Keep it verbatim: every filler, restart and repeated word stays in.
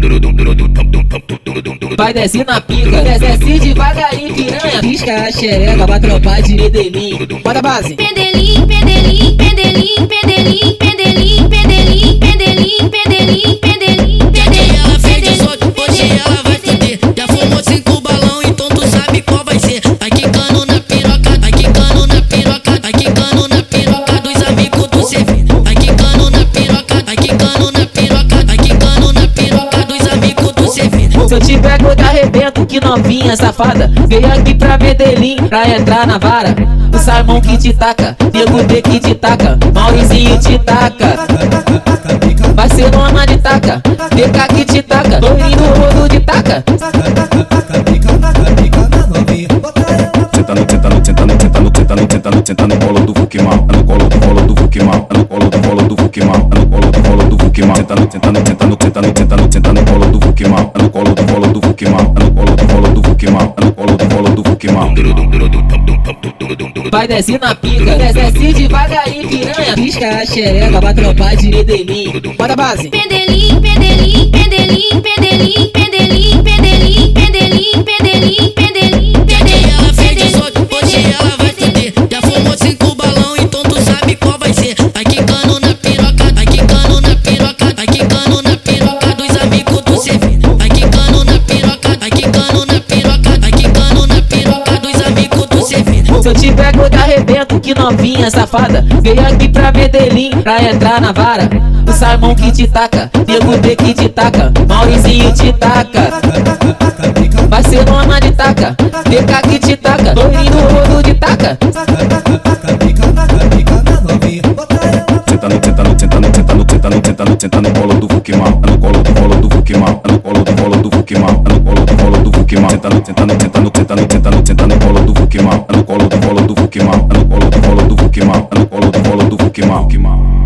Vai descer na pica, desce devagarinho, piranha. Pisca a xereca, vai trompar de Medellín. Bota a base. Pendelim, pendelim, pendelim, pendelim, pendelim, pendelim, pendelim, pendelim, pendelim. Hoje ela fez dezoito, hoje ela vai fuder. Já fumou cinco balão, então tu sabe qual vai ser. Vai quicando na piroca, vai quicando na piroca, vai quicando na piroca dos amigos do C V. Vai quicando na piroca, vai quicando na piroca, vai quicando na piroca dos amigos do C V. Se eu te pego, eu te arrebento, que novinha safada. Veio aqui pra Medellín, pra entrar na vara. O Simon que te taca, Nego D que te taca, Mauricinho te taca. Barcelona de taca, D K que te taca, Doirinho no rodo de taca. Senta no, senta no, senta no, senta no, senta no, senta no, senta no colo do Fukimal, no colo do colo do Fukimal, no colo do colo do Fukimal, no colo do colo do Fukimal. Senta no, senta no, senta no, senta no, senta no, senta no colo do Fukimal, no colo do colo do Fukimal, no colo do colo do Fukimal, no colo do colo do Fukimal. Vai descer na pica, desce devagarinho, piranha. Pisca a xereca, vai trompar de Medellín. Bota a base. Pendelim, pendelim, pendelim, pendelim, pendelim, pendelim, pendelim, pendelim, pendelim. Hoje ela fez dezoito, hoje ela vai fuder. Já fumou cinco balão, então tu sabe qual vai ser. Vai quicando na piroca, vai quicando na piroca, vai quicando na piroca dos amigos do C V. Vai quicando na piroca, vai quicando na piroca, vai quicando na piroca dos amigos do C V. Se eu te pego, eu te arrebento, que novinha safada. Veio aqui pra Medellín, pra entrar na vara. O Simon que te taca, Nego D que te taca, Mauricinho te taca. Barcelona de taca, D K que te taca, Doirinho no rodo de taca. Senta no, senta no, senta no, senta no, senta no, senta no, senta no colo do Fukimal, no colo do colo do Fukimal, no colo do colo do Fukimal, no colo do colo do Fukimal. Senta no, senta no, senta no, senta no, senta no, senta no colo do Fukimal, no colo do colo do Fukimal, no colo do colo do Fukimal, no colo do colo do Fukimal.